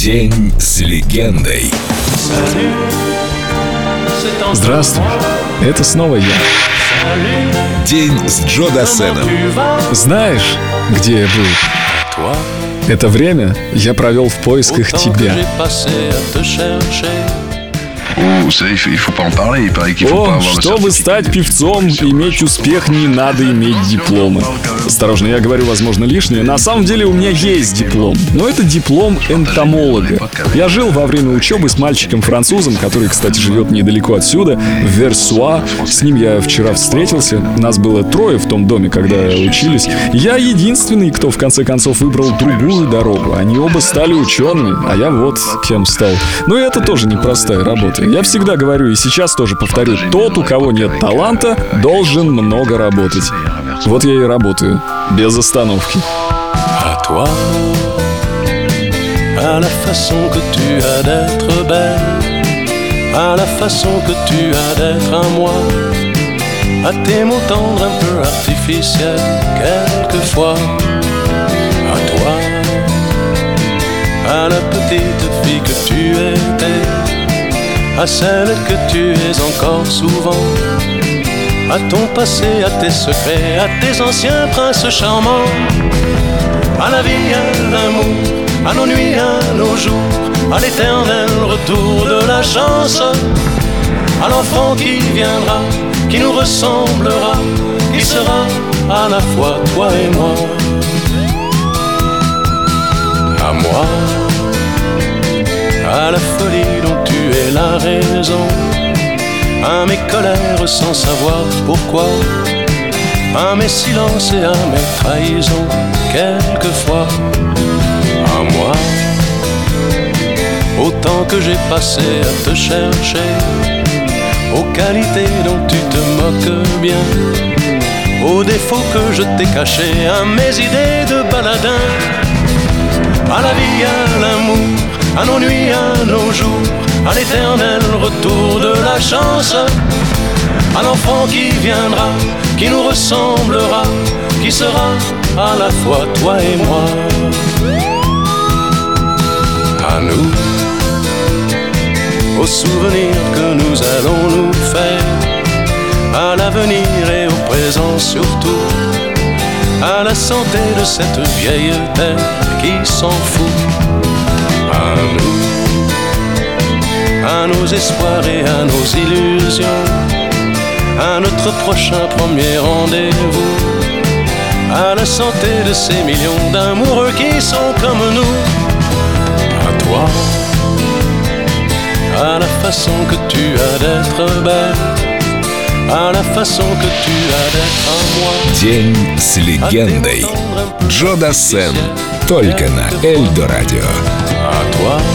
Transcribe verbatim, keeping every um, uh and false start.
День с легендой. Здравствуй, это снова я. День с Джо Дассеном. Знаешь, где я был? Это время я провел в поисках тебя. О, чтобы стать певцом, иметь успех, не надо иметь дипломы. Осторожно, я говорю, возможно, лишнее. На самом деле у меня есть диплом, но это диплом энтомолога. Я жил во время учебы с мальчиком-французом, который, кстати, живет недалеко отсюда, в Версуа. С ним я вчера встретился. Нас было трое в том доме, когда учились. Я единственный, кто в конце концов выбрал другую дорогу. Они оба стали учеными, а я вот кем стал. Но это тоже непростая работа. Я всегда говорю и сейчас тоже повторю: тот, у кого нет таланта, должен много работать. Вот я и работаю, без остановки. À toi, à la façon que tu as d'être belle, à la façon que tu as d'être à moi, à tes mots tendres un peu artificiels quelquefois. À toi, à la petite fille que tu étais, à celle que tu es encore souvent, à ton passé, à tes secrets, à tes anciens princes charmants, à la vie, à l'amour, à nos nuits, à nos jours, à l'éternel retour de la chance, à l'enfant qui viendra, qui nous ressemblera, qui sera à la fois toi et moi. À moi, à la folie dont tu es la raison, à mes colères sans savoir pourquoi, à mes silences et à mes trahisons quelquefois. À moi, au temps que j'ai passé à te chercher, aux qualités dont tu te moques bien, aux défauts que je t'ai cachés, à mes idées de baladin, à la vie, à l'amour, à nos nuits, à nos jours, à l'éternel retour de la chance, à l'enfant qui viendra, qui nous ressemblera, qui sera à la fois toi et moi. À nous, aux souvenirs que nous allons nous faire, à l'avenir et au présent surtout, à la santé de cette vieille terre qui s'en fout. À nous, à nos espoirs et à nos illusions, à notre prochain premier rendez-vous, à la santé de ces millions d'amoureux qui sont comme nous. À toi, à la façon que tu as d'être belle, à la façon que tu as d'être à moi. День с легендой. Джо Дассен. Только на Эльдо Радио. À toi,